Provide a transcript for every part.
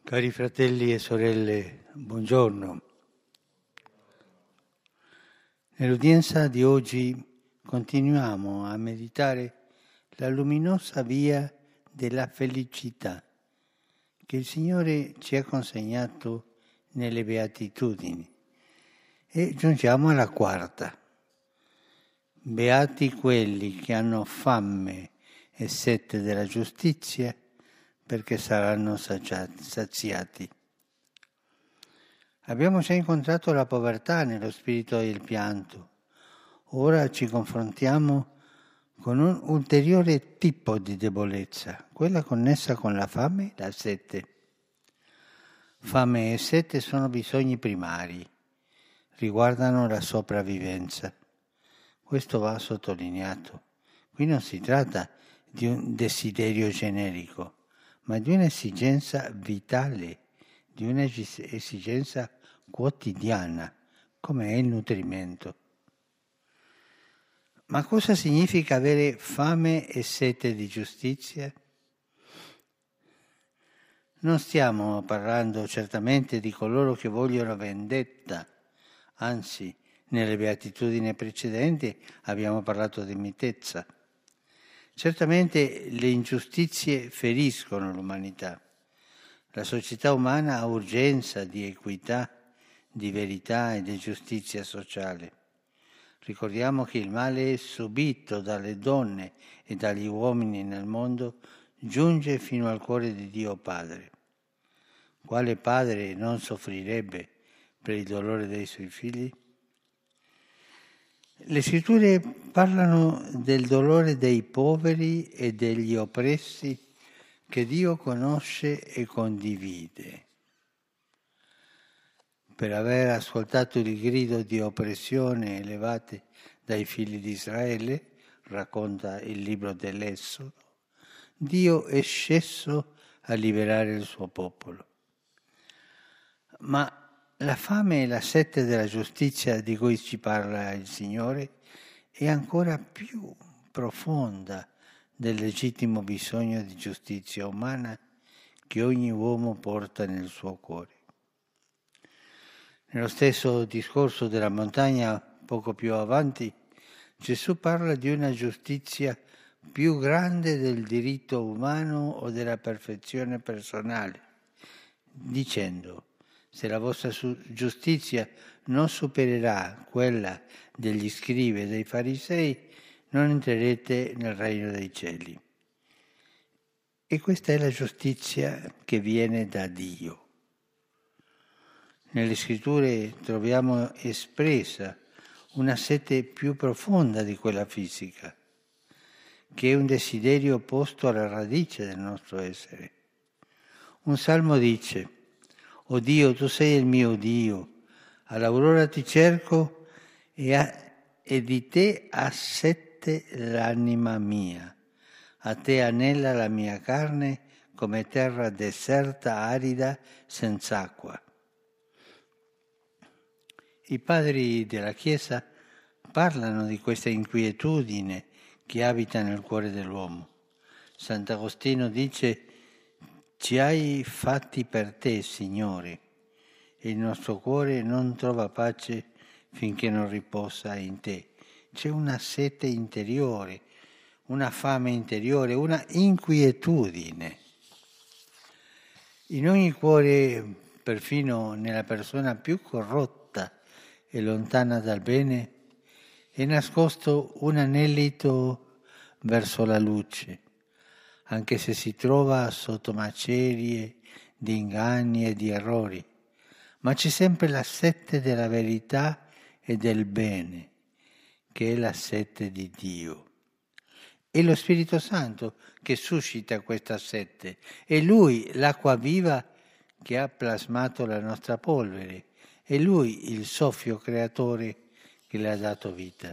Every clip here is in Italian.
Cari fratelli e sorelle, buongiorno. Nell'udienza di oggi continuiamo a meditare la luminosa via della felicità che il Signore ci ha consegnato nelle Beatitudini e giungiamo alla quarta. Beati quelli che hanno fame e sete della giustizia, perché saranno saziati. Abbiamo già incontrato la povertà nello spirito del pianto. Ora ci confrontiamo con un ulteriore tipo di debolezza, quella connessa con la fame e la sete. Fame e sete sono bisogni primari, riguardano la sopravvivenza. Questo va sottolineato. Qui non si tratta di un desiderio generico, ma di un'esigenza vitale, di un'esigenza quotidiana, come è il nutrimento. Ma cosa significa avere fame e sete di giustizia? Non stiamo parlando certamente di coloro che vogliono vendetta, anzi, nelle beatitudini precedenti abbiamo parlato di mitezza. Certamente le ingiustizie feriscono l'umanità. La società umana ha urgenza di equità, di verità e di giustizia sociale. Ricordiamo che il male subito dalle donne e dagli uomini nel mondo giunge fino al cuore di Dio Padre. Quale padre non soffrirebbe per il dolore dei suoi figli? Le scritture parlano del dolore dei poveri e degli oppressi che Dio conosce e condivide. Per aver ascoltato il grido di oppressione elevate dai figli di Israele, racconta il libro dell'Esodo, Dio è sceso a liberare il suo popolo. Ma la fame e la sete della giustizia di cui ci parla il Signore è ancora più profonda del legittimo bisogno di giustizia umana che ogni uomo porta nel suo cuore. Nello stesso discorso della montagna, poco più avanti, Gesù parla di una giustizia più grande del diritto umano o della perfezione personale, dicendo: se la vostra giustizia non supererà quella degli scribi e dei farisei, non entrerete nel regno dei cieli. E questa è la giustizia che viene da Dio. Nelle scritture troviamo espressa una sete più profonda di quella fisica, che è un desiderio posto alla radice del nostro essere. Un salmo dice: «O Dio, tu sei il mio Dio, all'aurora ti cerco e di te ha sete l'anima mia. A te anela la mia carne come terra deserta, arida, senza acqua». I padri della Chiesa parlano di questa inquietudine che abita nel cuore dell'uomo. Sant'Agostino dice: «Ci hai fatti per te, Signore, e il nostro cuore non trova pace finché non riposa in te». C'è una sete interiore, una fame interiore, una inquietudine. In ogni cuore, perfino nella persona più corrotta e lontana dal bene, è nascosto un anelito verso la luce, anche se si trova sotto macerie di inganni e di errori, ma c'è sempre la sete della verità e del bene, che è la sete di Dio. È lo Spirito Santo che suscita questa sete, è Lui l'acqua viva che ha plasmato la nostra polvere, è Lui il soffio creatore che le ha dato vita.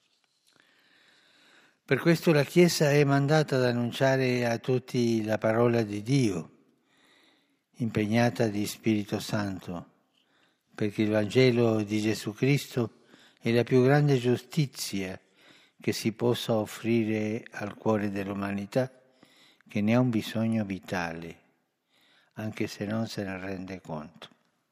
Per questo la Chiesa è mandata ad annunciare a tutti la parola di Dio, impegnata di Spirito Santo, perché il Vangelo di Gesù Cristo è la più grande giustizia che si possa offrire al cuore dell'umanità, che ne ha un bisogno vitale. anche se non se ne rende conto.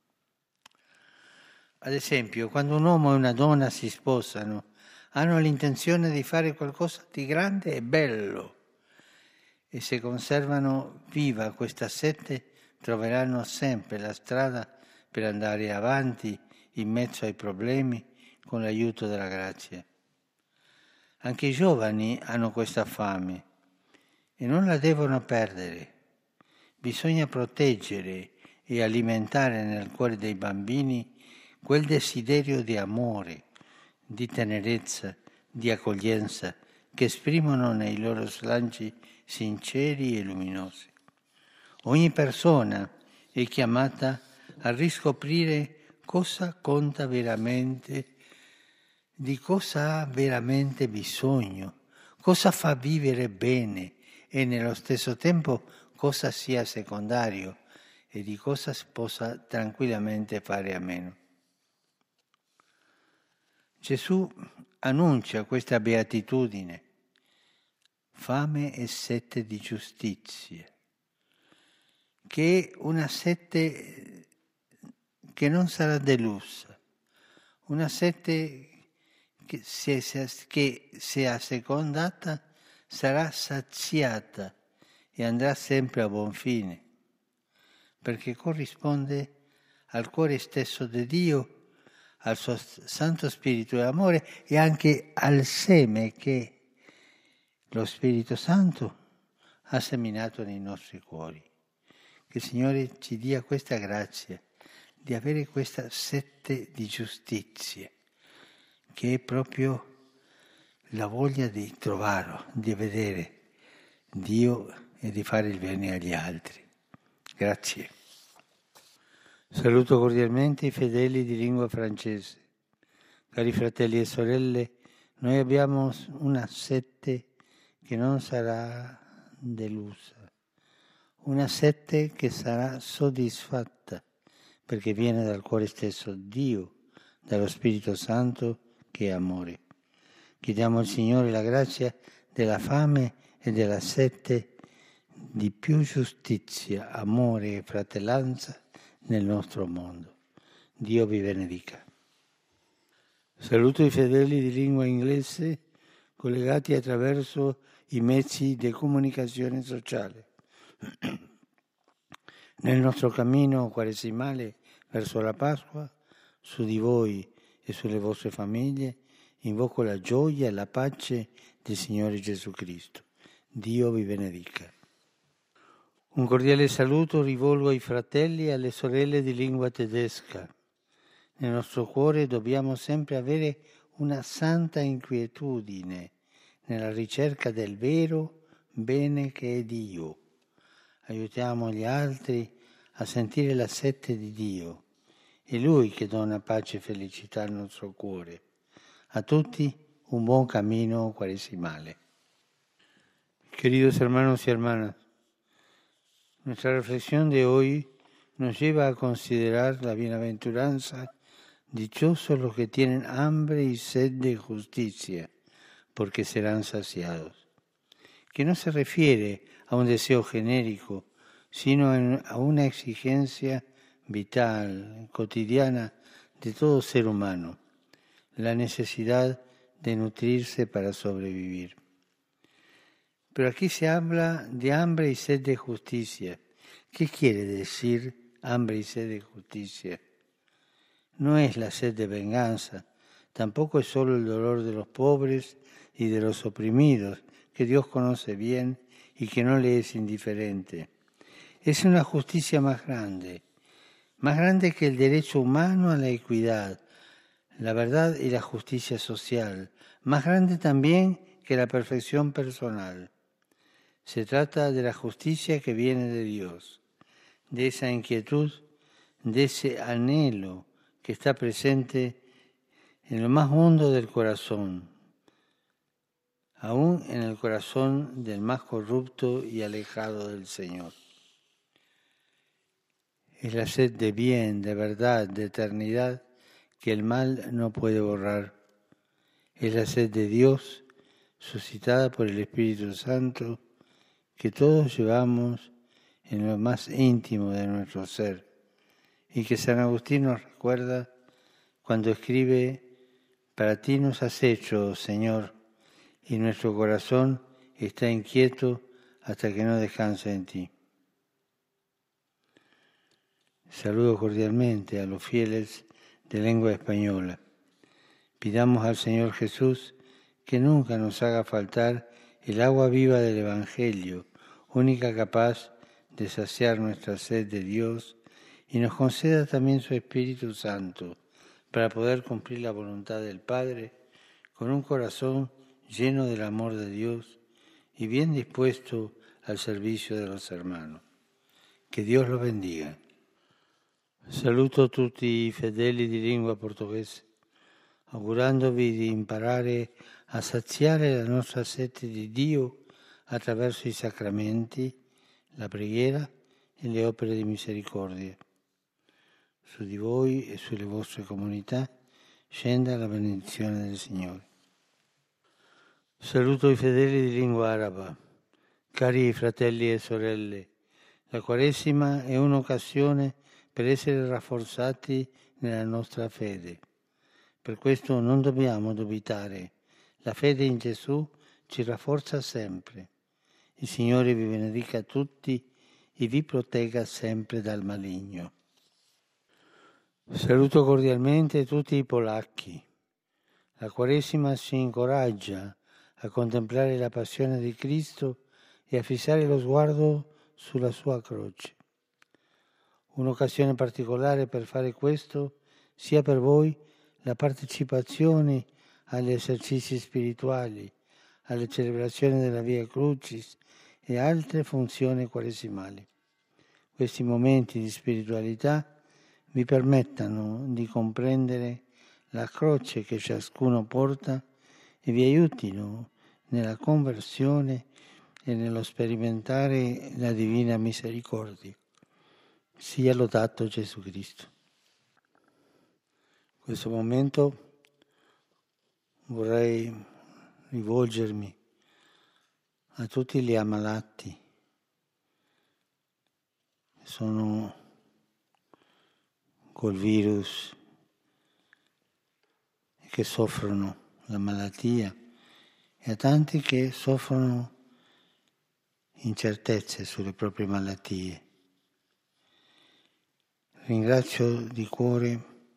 Ad esempio, quando un uomo e una donna si sposano, hanno l'intenzione di fare qualcosa di grande e bello, e se conservano viva questa sete troveranno sempre la strada per andare avanti in mezzo ai problemi con l'aiuto della grazia. Anche i giovani hanno questa fame e non la devono perdere. Bisogna proteggere e alimentare nel cuore dei bambini quel desiderio di amore, di tenerezza, di accoglienza che esprimono nei loro slanci sinceri e luminosi. Ogni persona è chiamata a riscoprire cosa conta veramente, di cosa ha veramente bisogno, cosa fa vivere bene e nello stesso tempo cosa sia secondario e di cosa si possa tranquillamente fare a meno. Gesù annuncia questa beatitudine, fame e sete di giustizia, che è una sete che non sarà delusa, una sete che se assecondata sarà saziata e andrà sempre a buon fine, perché corrisponde al cuore stesso di Dio, al suo Santo Spirito e amore e anche al seme che lo Spirito Santo ha seminato nei nostri cuori. Che il Signore ci dia questa grazia di avere questa sete di giustizia, che è proprio la voglia di trovarlo, di vedere Dio e di fare il bene agli altri. Grazie. Saluto cordialmente i fedeli di lingua francese. Cari fratelli e sorelle, noi abbiamo una sete che non sarà delusa, una sete che sarà soddisfatta, perché viene dal cuore stesso Dio, dallo Spirito Santo che è amore. Chiediamo al Signore la grazia della fame e della sete di più giustizia, amore e fratellanza nel nostro mondo. Dio vi benedica. Saluto i fedeli di lingua inglese collegati attraverso i mezzi di comunicazione sociale. Nel nostro cammino quaresimale verso la Pasqua, su di voi e sulle vostre famiglie, invoco la gioia e la pace del Signore Gesù Cristo. Dio vi benedica. Un cordiale saluto rivolgo ai fratelli e alle sorelle di lingua tedesca. Nel nostro cuore dobbiamo sempre avere una santa inquietudine nella ricerca del vero bene che è Dio. Aiutiamo gli altri a sentire la sete di Dio. È Lui che dona pace e felicità al nostro cuore. A tutti un buon camino quaresimale. Queridos hermanos y hermanas, nuestra reflexión de hoy nos lleva a considerar la bienaventuranza, dichosos los que tienen hambre y sed de justicia, porque serán saciados, que no se refiere a un deseo genérico, sino a una exigencia vital, cotidiana de todo ser humano, la necesidad de nutrirse para sobrevivir. Pero aquí se habla de hambre y sed de justicia. ¿Qué quiere decir hambre y sed de justicia? No es la sed de venganza, tampoco es solo el dolor de los pobres y de los oprimidos, que Dios conoce bien y que no le es indiferente. Es una justicia más grande que el derecho humano a la equidad, la verdad y la justicia social, más grande también que la perfección personal. Se trata de la justicia que viene de Dios, de esa inquietud, de ese anhelo que está presente en lo más hondo del corazón, aún en el corazón del más corrupto y alejado del Señor. Es la sed de bien, de verdad, de eternidad que el mal no puede borrar. Es la sed de Dios suscitada por el Espíritu Santo que todos llevamos en lo más íntimo de nuestro ser, y que San Agustín nos recuerda cuando escribe: para ti nos has hecho, Señor, y nuestro corazón está inquieto hasta que no descanse en ti. Saludo cordialmente a los fieles de lengua española. Pidamos al Señor Jesús que nunca nos haga faltar el agua viva del Evangelio, única capaz de saciar nuestra sed de Dios, y nos conceda también su Espíritu Santo para poder cumplir la voluntad del Padre con un corazón lleno del amor de Dios y bien dispuesto al servicio de los hermanos. Que Dios los bendiga. Saluto tutti i fedeli di lingua portoghese, augurandovi di imparare a saziare la nostra sete di Dio attraverso i sacramenti, la preghiera e le opere di misericordia. Su di voi e sulle vostre comunità scenda la benedizione del Signore. Saluto i fedeli di lingua araba. Cari fratelli e sorelle, la Quaresima è un'occasione per essere rafforzati nella nostra fede. Per questo non dobbiamo dubitare. La fede in Gesù ci rafforza sempre. Il Signore vi benedica tutti e vi protegga sempre dal maligno. Saluto cordialmente tutti i polacchi. La Quaresima ci incoraggia a contemplare la passione di Cristo e a fissare lo sguardo sulla sua croce. Un'occasione particolare per fare questo sia per voi la partecipazione agli esercizi spirituali, alle celebrazioni della Via Crucis e altre funzioni quaresimali. Questi momenti di spiritualità vi permettano di comprendere la croce che ciascuno porta e vi aiutino nella conversione e nello sperimentare la divina misericordia. Sia lodato Gesù Cristo. In questo momento vorrei rivolgermi a tutti gli ammalati che sono col virus e che soffrono la malattia e a tanti che soffrono incertezze sulle proprie malattie. Ringrazio di cuore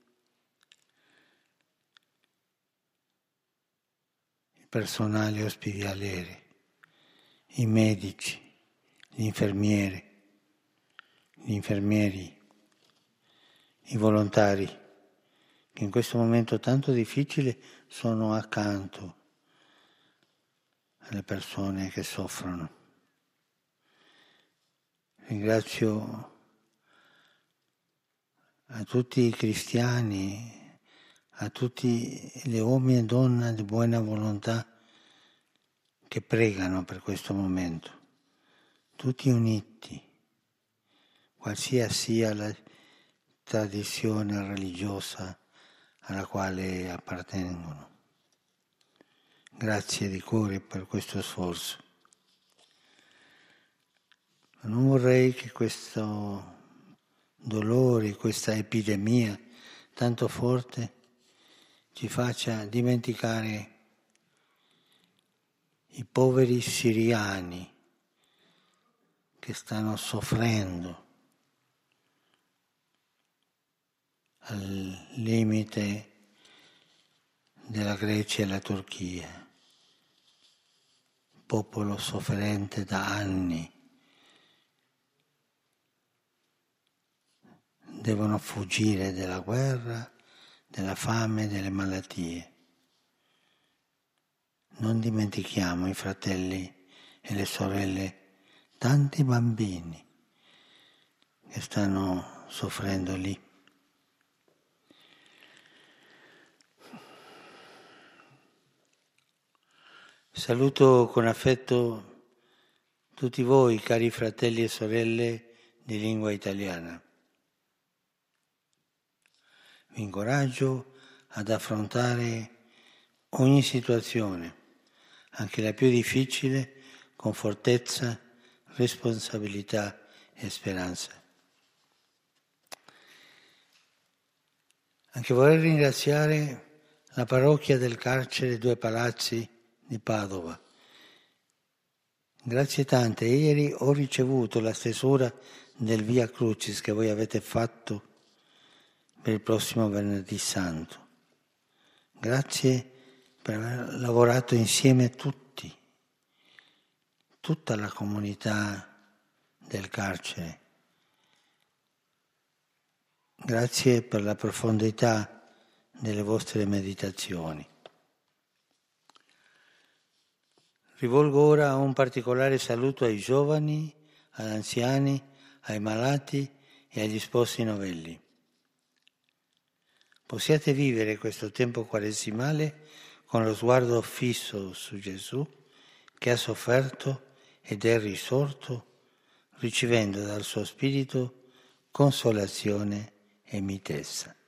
il personale ospedaliero, i medici, gli infermieri, i volontari, che in questo momento tanto difficile sono accanto alle persone che soffrono. Ringrazio a tutti i cristiani, a tutti gli uomini e donne di buona volontà che pregano per questo momento, tutti uniti, qualsiasi sia la tradizione religiosa alla quale appartengono. Grazie di cuore per questo sforzo. Ma non vorrei che questo dolore, questa epidemia tanto forte ci faccia dimenticare i poveri siriani che stanno soffrendo al limite della Grecia e la Turchia, popolo sofferente da anni. Devono fuggire dalla guerra, della fame, delle malattie. Non dimentichiamo i fratelli e le sorelle, tanti bambini che stanno soffrendo lì. Saluto con affetto tutti voi, cari fratelli e sorelle di lingua italiana. Vi incoraggio ad affrontare ogni situazione, anche la più difficile, con fortezza, responsabilità e speranza. Anche vorrei ringraziare la parrocchia del carcere Due Palazzi di Padova. Grazie tante. Ieri ho ricevuto la stesura del Via Crucis che voi avete fatto per il prossimo Venerdì Santo. Grazie per aver lavorato insieme tutti, tutta la comunità del carcere. Grazie per la profondità delle vostre meditazioni. Rivolgo ora un particolare saluto ai giovani, agli anziani, ai malati e agli sposi novelli. Possiate vivere questo tempo quaresimale con lo sguardo fisso su Gesù che ha sofferto ed è risorto, ricevendo dal suo Spirito consolazione e mitezza.